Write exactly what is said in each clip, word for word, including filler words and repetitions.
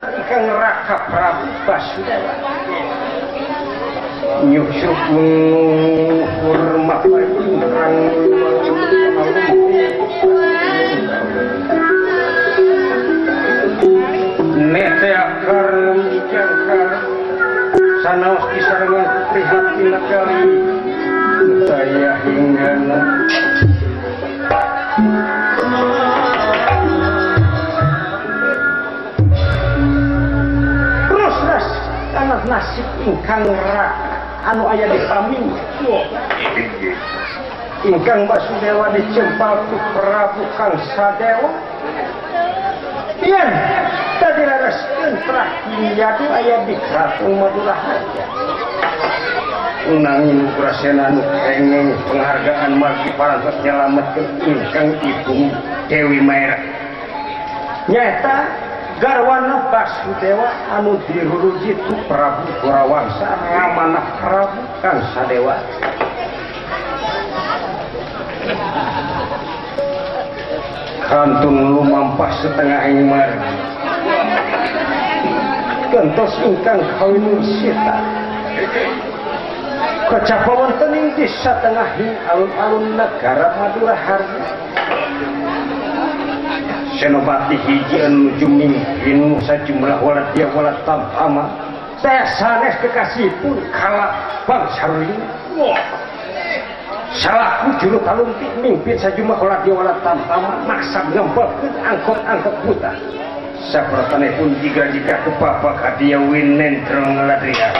Kang Raka Prabu Basudewa nyusuk menghormat ingkang nete akar mijangkar sanaos kisarengan prihatin kali saya hinggana nasib ingkang Raka anu aya di paming ingkang Basudewa dicempal ku Prabu Kang Sadewa yen tadi laras entrah yadu aya di Kraton Maduraharja nanging Prasena nu kenging penghargaan margi parantos nyalametkeun ingkang Ibu Dewi Maera nyata garwana Basudewa anu diruruji ku Prabu Gorawangsa ramana Prabu Kang Sadewa kantun lumampah setengah ingmar gentos ingkang kawin sita kecapawonten ing di satengahing alun-alun negara Maduraharja Senopati hiji anu jumimpin sajumlah waladya walad tamtama saya sanes kekasihpun kalak bangsa ring salaku juru talunti mimpin sajumlah waladya walad tamtama maksa ngembelkeun angkot-angkot buta sapertanipun jika-jika kepapak hadiah winendra ngaladria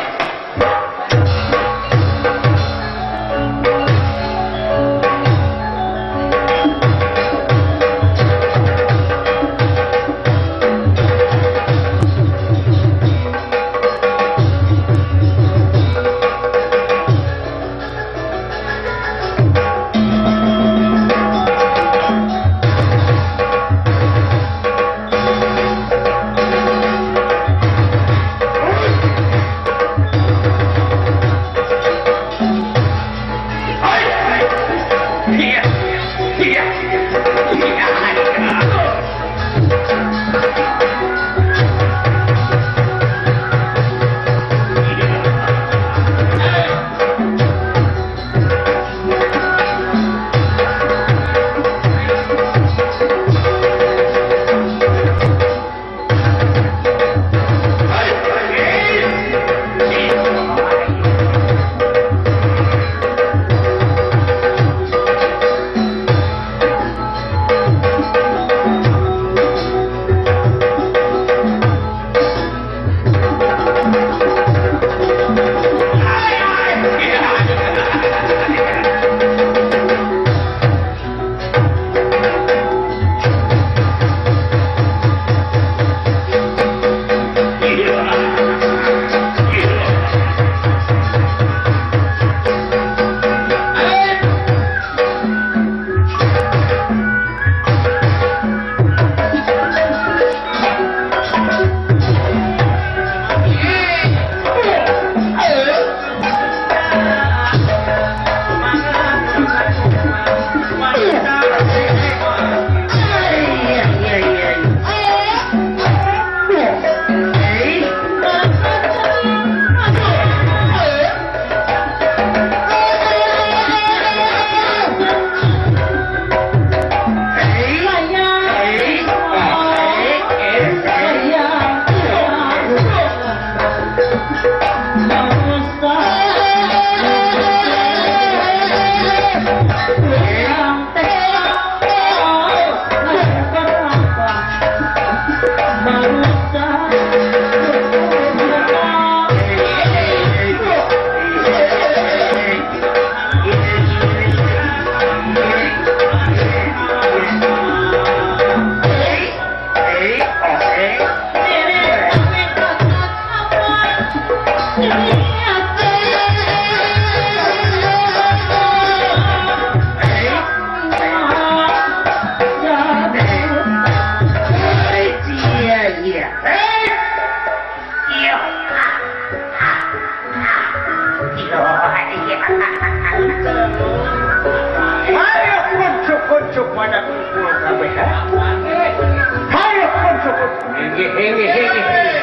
Hayo, hayo, hayo, hayo, hayo, hayo, hayo,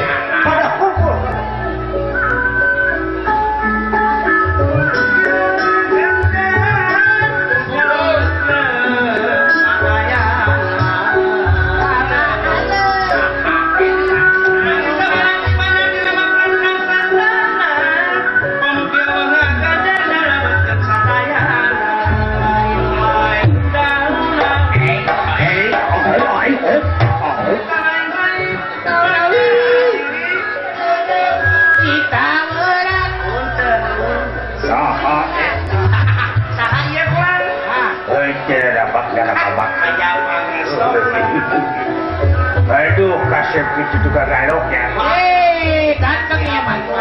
Aduh, kasep itu juga galoknya. Eh, ganteng ya mantu.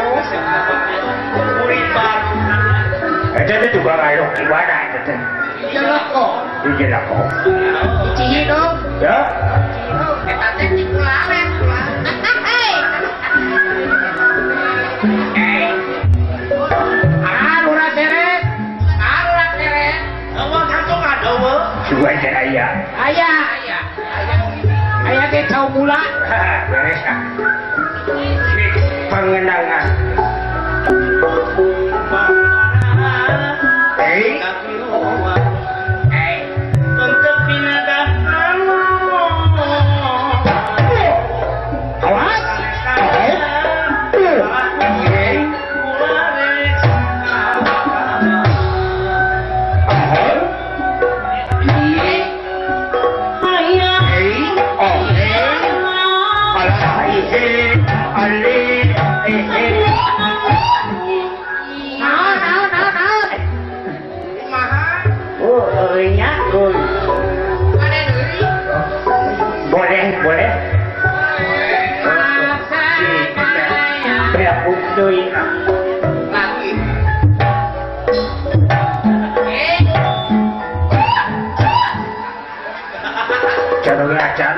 Itu itu juga galok gimana itu? Jelas kok. Jelas kok. Cihi dong. Ya. Cihi dong. Kita teh cikularen. Hei. Ah, lurah seret. Arah seret. Awak kantong ada we. Suai aya. Aya, aya. Aya teh cau mula. Beres ah. Pengenangan. Eh, Eh, untuk pinadah awas. Boleh, boleh. Berapa duit? Lagi. Cara ngajar.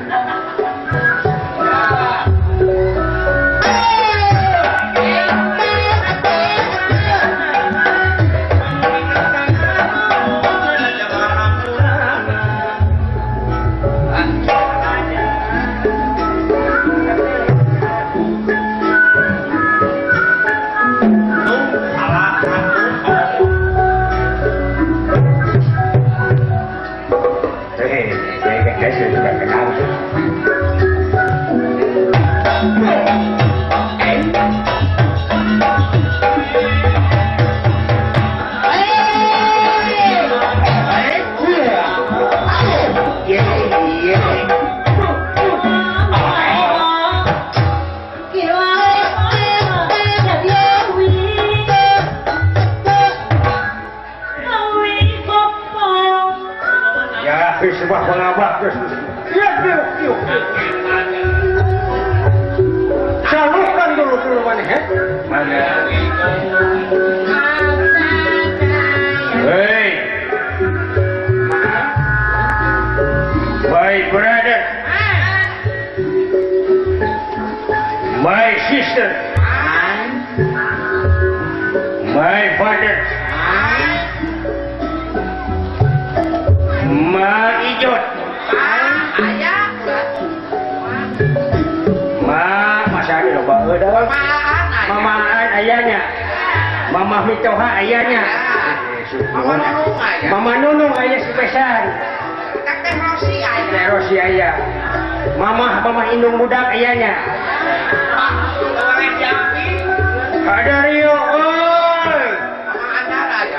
Sebuah pengabak terus. Iya, iya, iya. Salurkan dulu dulu mana ya? Mana? Hey, my brother, my sister, my father. Ma Ijot. Ayah. Ma masa ada loba eueuh. Mama ayahnya. Mama Mitoha ayahnya. Mama Nunung ayah. Mama Nunung ayah spesial. Teh Rosi ayah. Teh Rosi ayah. Mama Mama Indung budak ayahnya. Ada Rio, oi. Mama Andara ayah.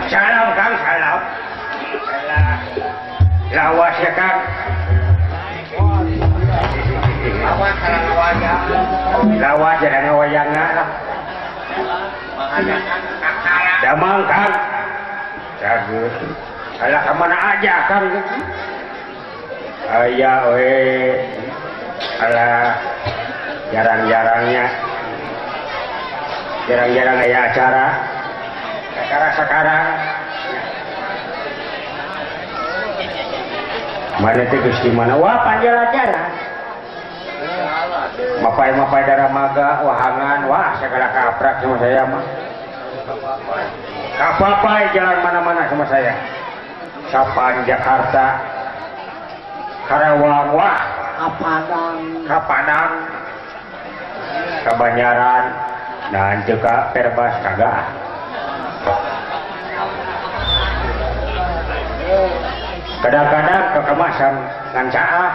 Salam Kang, salam. Lawas ya Kang. Lawas sareng wayang. Lawas sareng wayangna lah. Damang Kang. Jagut. Alah kemana aja Kang? Aya we. Alah jarang-jarangnya. Jarang-jarang aya acara. Acara sekarang. Mana teh geus di mana? Wah, panjang acara. Mapai-mapai daramaga, wahangan, wah segala kaprak sama saya mah. Kapapai jalan mana-mana sama saya. Sapan Jakarta, Karawang, wah, Kapadang, Kapadang, Kabanjaran, dan juga Perbas kagak. Kadang-kadang kekemasan ngan caah.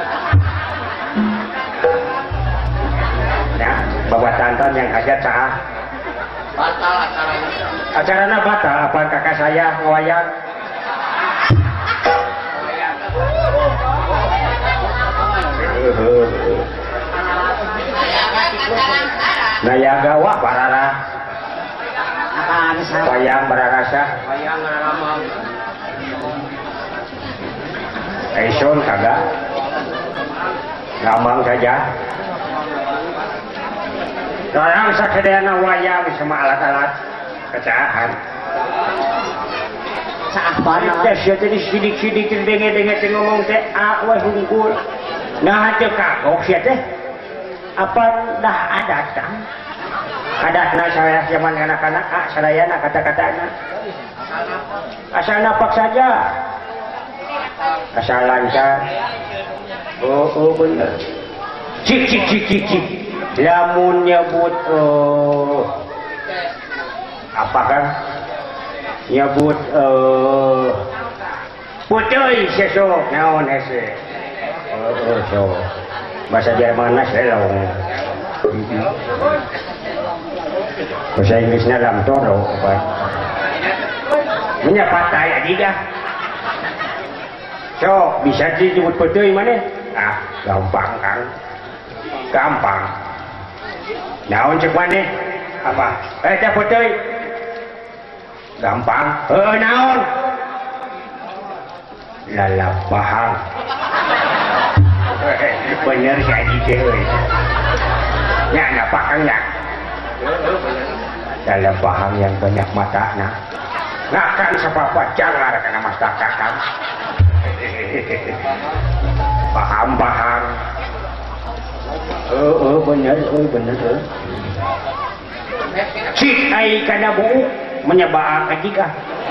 Ya, bawa tantan yang aja caah. Batal acaranya. Acaranya batal, apa kakak saya ngewayang. Nayaga wah barara. Wayang bararasa. Wayang ngaramang. Eison kagak. Gamang saja. Orang sakedana wayang sama alat-alat kecahan. Saah bana. Tes jadi sidik-sidik denge-denge ngomong teh ah wah hungkul. Nah teu kagok sia teh. Apa dah adat kan? Adatna saya zaman anak-anak ah sadayana kata-katana. Asal napak saja. Asal lancar. Oh, oh bener. Cik cik cik cik cik. Lamun nyebut oh, apa kan? Nyebut eh puteuy sesok naon hese. Oh, oh so. Bahasa Jermanna selong. Bahasa Inggrisnya lam toro apa? Menyapatai aja dah. So, bisa disebut puteuy mana? Ah, gampang Kang. Gampang. Naon cek mana? Apa? Eh, teh puteuy. Gampang. Heuh naon? Lalapahang. Bener si Aji euy. Nya napa Kang nya? Lalapahang yang banyak matana. Ngakan sapapa jangar kana mastaka Kang. Paham-paham. Oh, oh bener, oh bener. Oh. Cik ai kana buuk menyebak jika.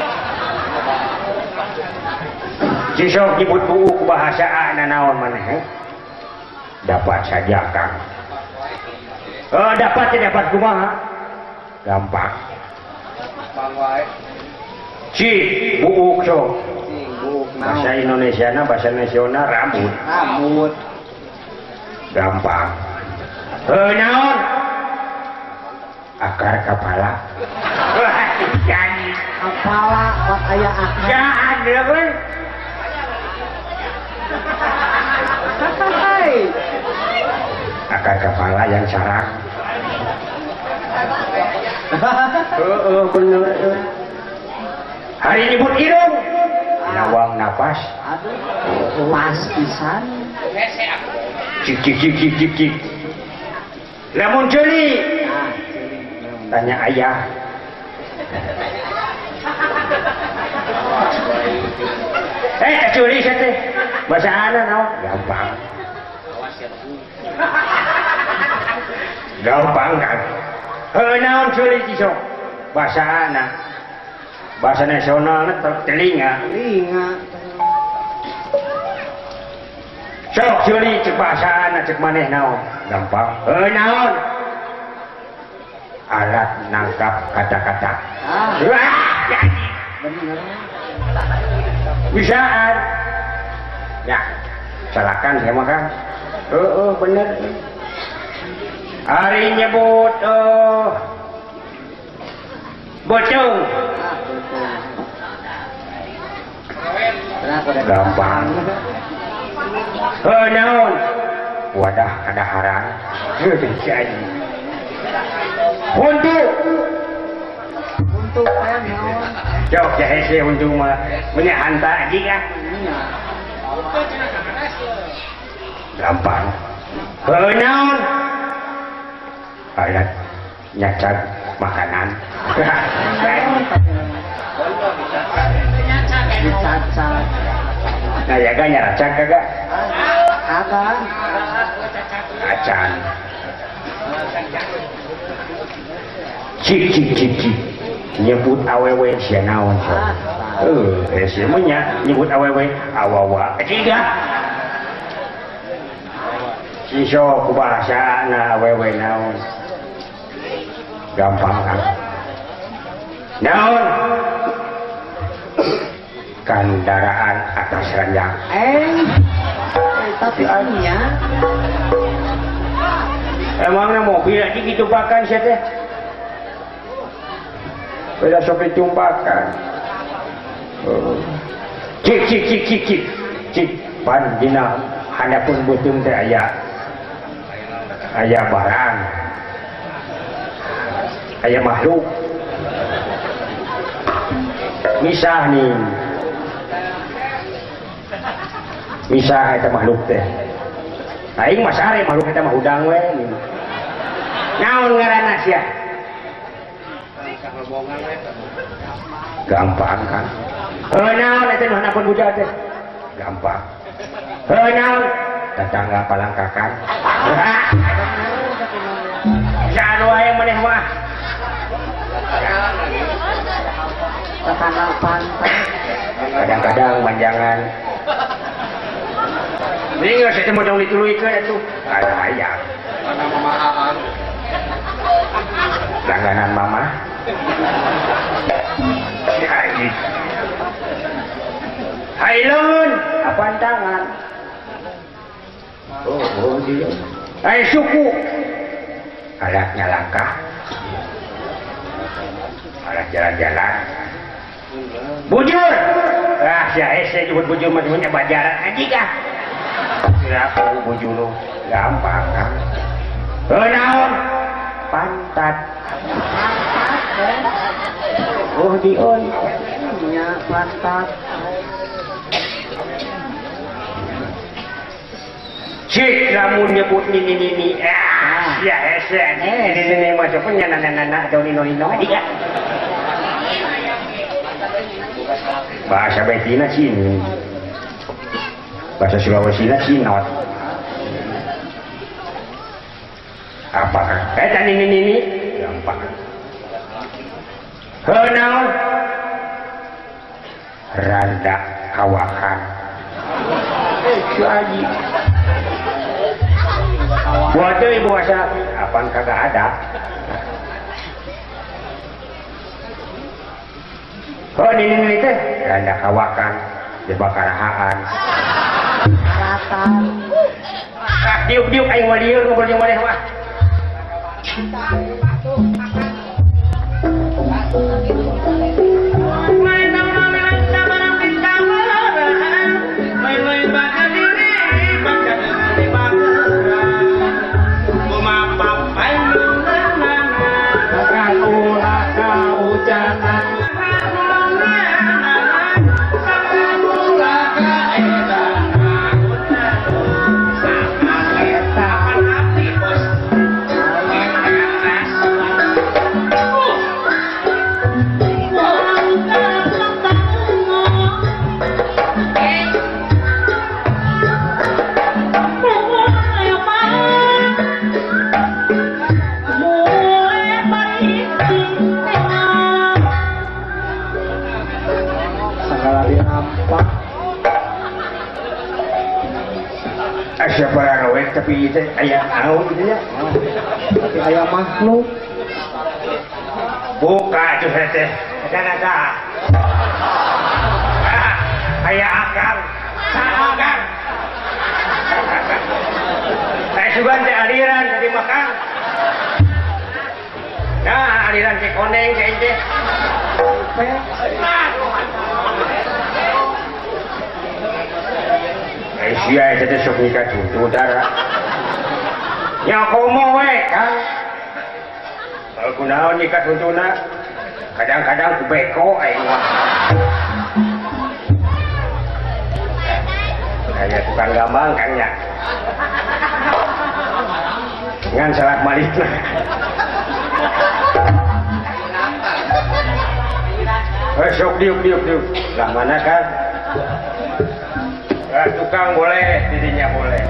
Sisok nyebut buuk bahasa naon maneh. Dapat saja Kang. Oh, dapat dapat kumaha? Gampang. Gampang wae. Cik buuk so. Bahasa Indonesia na bahasa nasional rambut. Rambut. Gampang. Heuh naon? Akar kepala. Jadi Kepala buat aya akar. ya ada kan? Hai. Akar kepala yang sarang. Heeh bener. Hari nyebut hidung. Nawang napas. Aduh. Pas pisan. Hese aku. Cik cik cik cik cik cik. Lamun celi. Ah, Tanya ayah. Eh curi saya teh. Bahasa ana naon? Gampang. Awas ya Bu. Gampang kan. Heuh naon curi cisok? Bahasa ana. Bahasa nasional telinga. telinga. Sok curi cek bahasa ana cek maneh naon? Gampang. Heuh naon? Alat nangkap kata-kata. Ah, Wah, jadi. bener. Bisaan. Ya, silakan saya makan. Oh, oh bener. Hari nyebut oh, bocong. Ah, gampang heuh naon wadah ada harang heuh jadi untuk untuk teh naon jauh jahe sih untuk mah punya hantar aja kan gampang heuh naon ayat nyacat makanan dicacat nah ya kan nyaracak kagak kagak acan cik cik cik cik nyebut awewe sia naon so eh sia mah nya nyebut awewe awawa ketiga si so ku bahasa na awewe naon gampang kan naon kendaraan atas ranjang eh tapi anya emangnya mobil aja gitu pakan sih teh beda sopi tumpakan cik cik cik cik cik cik pan dina hanya pun butuh teh aya aya barang aya makhluk misah nih misah eta makhluk teh aing mah sare makhluk eta mah udang we naon ngaranna sia gampang kan heuh naon eta nu hanapun budak teh gampang heuh naon tetangga palangkakan janu aya maneh mah tetangga pantai kadang-kadang manjangan ini nggak saya mau dong dituluikan itu ada ayam langganan mama lagi hai lun apaan tangan oh, oh dia hai suku alatnya langkah alat jalan-jalan bujur ah saya saya nyebut bujur macamnya bajaran aja kah kenapa bujur lu gampang kan heuh naon pantat oh dion nya pantat cik lamun nyebut nini nini ah ya hese nini nini macamnya nana nana atau nino nino aja bahasa betina sini bahasa Sulawesi sinot apa kan eh tadi ini ini gampang heuh naon randa kawakan eh cu aji buat deui bahasa apaan kagak ada oh ini ini teh randa kawakan dibakarahaan ratan ah diuk diuk aing mah dieu ngobrol jeung maneh mah siapa orang awet tapi itu ayah tahu gitu ya tapi ayah makhluk buka itu saya teh ada ayah akal akal saya juga teh aliran tadi makan nah aliran cek koneng kayak itu capek. Eh sia itu sok nikah cucu dara. Ya komo we kan. Kalau kunaon nikah cucuna kadang-kadang ku beko aing mah. Kayak tukang gambang kan ya. Ngan salat malik lah. Eh sok diuk diuk diuk. Lah mana kan? Eh, tukang boleh, dirinya boleh.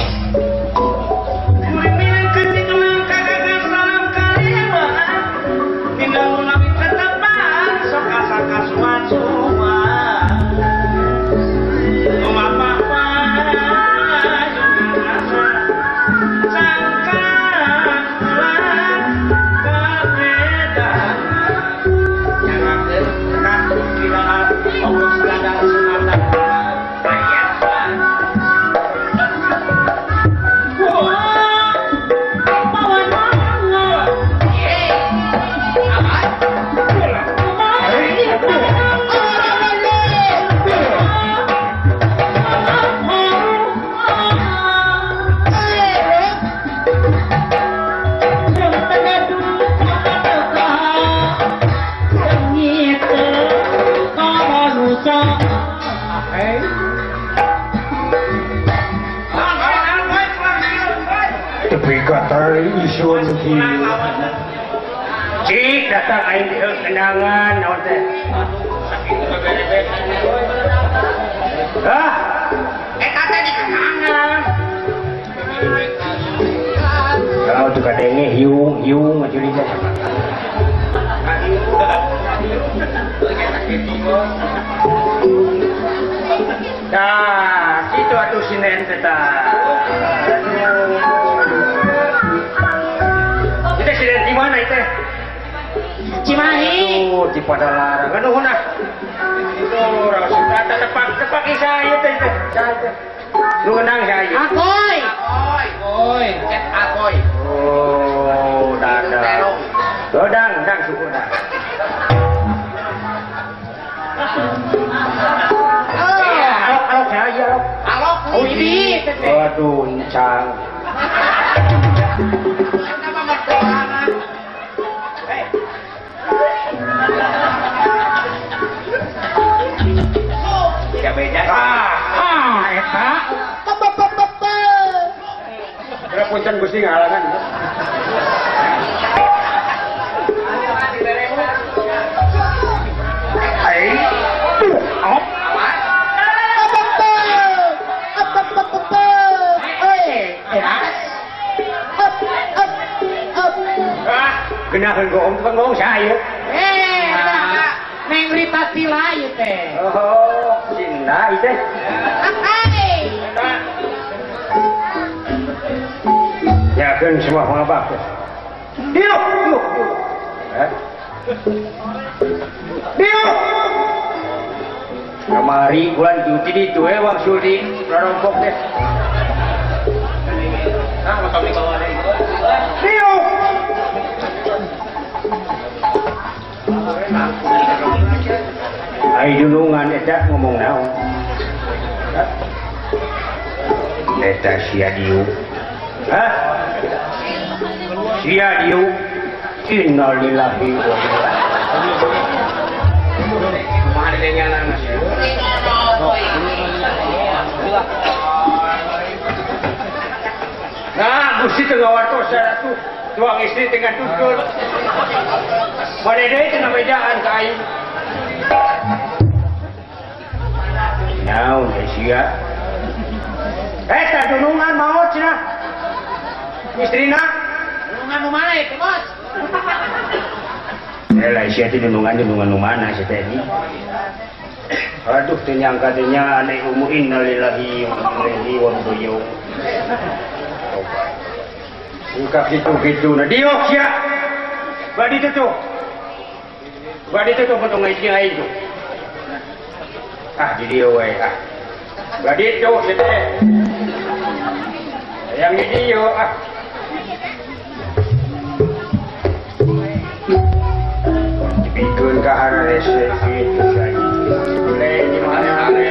Isun ki cik datang aing dieu kenangan naon teh hah eta teh di kenangan kalau tu kadenge hiung hiung mah curi teh dah situ atuh sinen teh tah di mana itu? Cimahi. Oh, di Padalarang. Anu huna? Itu orang sudah tepak tepak saya itu itu. Lu kenang saya? Akoy. Akoy, akoy, ket akoy. Oh, dadang. Dadang, dang syukur dah. Alok, alok saya, alok. Alok, Oh, ini. Waduh, encang. Ya beda. Ah, eta. Punten Gusti ngalangan. Ai. Op. Genakeun gong tukang gong saya. Eh, Neng Rita Sila ieu teh. Oh, Cinta itu. Hai. Ya kan semua pengabak. Diuk, diuk, diuk. Eh? Diuk. Kamari bulan cuti di tuh wang sudi rarompok deh. Ah, mau kami bawa lagi. Diuk. Ai dulungan eta ngomong naon. Eta sia diuk. Hah? Sia diuk. Innalillahi wa Kumaha dengan anak. Nah, Gusti teu ngawartos ratu. Tuang istri dengan tutul. Mana deui teu nabedaan ka aing. Naon teh sia? Eta dunungan maot cenah. Istrina Dunungan nu mana itu, Bos? Elah sia teh dunungan dunungan nu mana sia teh ini? Aduh teu nyangka teh nya ane umu innalillahi wa inna ilaihi raji'un. Buka gitu-gitu nah diok sia. Badi itu tuh. Badi itu tuh potong ngaji aing tuh. Ah di dia we ah. Badi itu sia teh. Yang di dia ah. Dipikeun ka arah rese itu saja. Le gimana hari?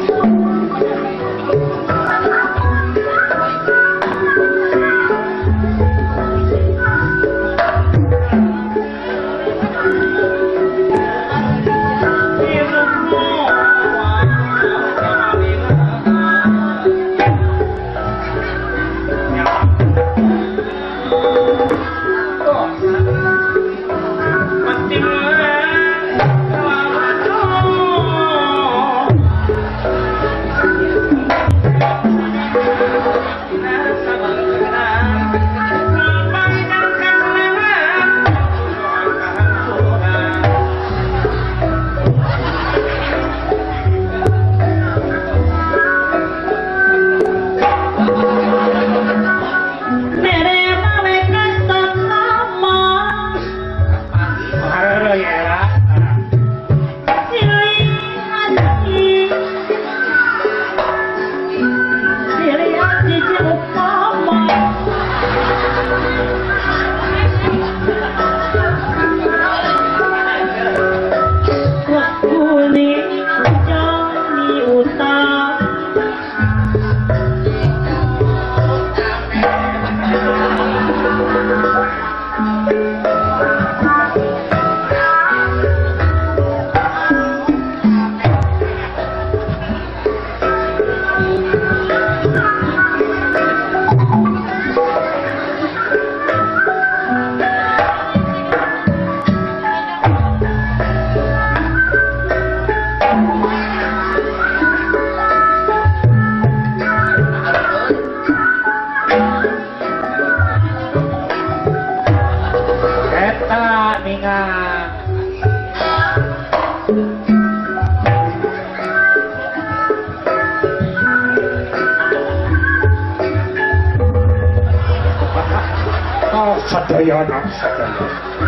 Sadaya nak sadaya.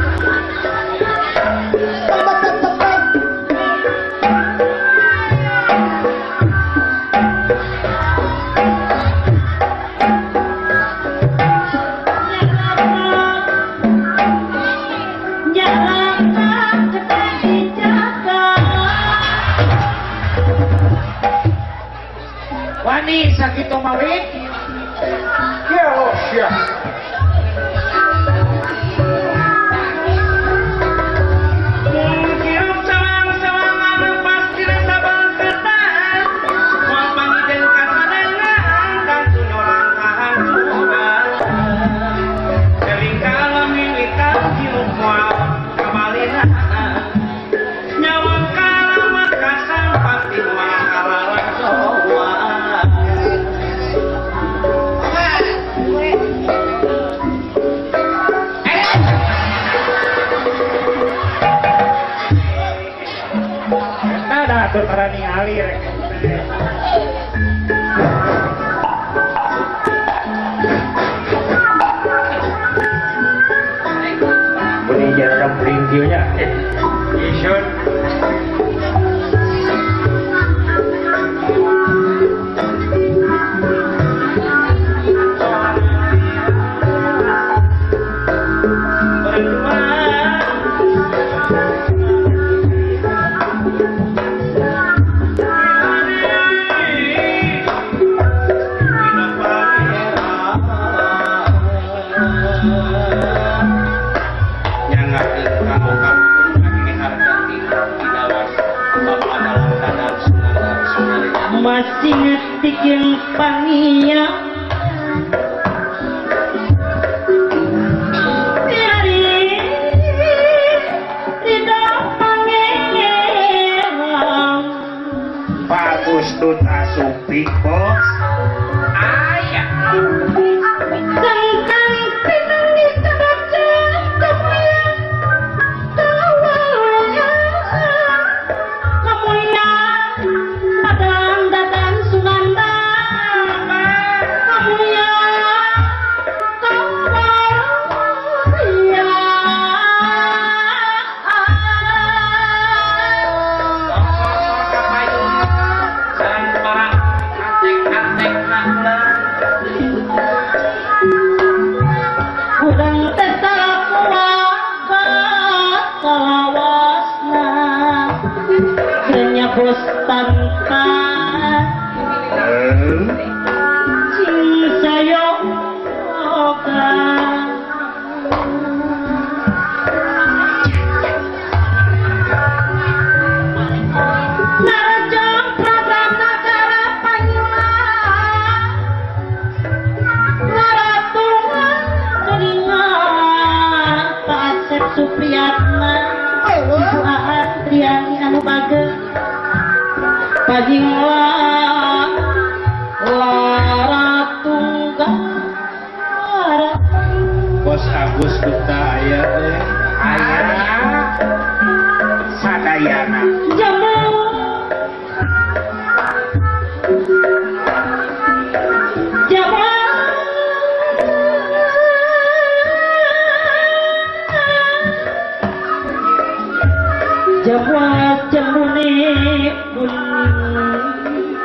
Wani sakit mawit. Ya Allah, siap. Atur para ningali rek. Ini jarang peringkilnya. Isun. Masih ngetik yang pangia dari tidak pangeran Bagus tuh tasupi bos. Ayah. tentang pinangis terbaca kemuliaan kemuliaan padang dadang Suganda kemuliaan Sarang para antek-antek nak bos tanpa sing saya oga narajang program negara panyulang ngaratungan kelingan Pak Asep Supriyatna Ibu Adriani anu bagel paginglang lara tunggal lara Bos Agus Duta aya teh. Aya sadayana jamu jamu jamu jamune bunyi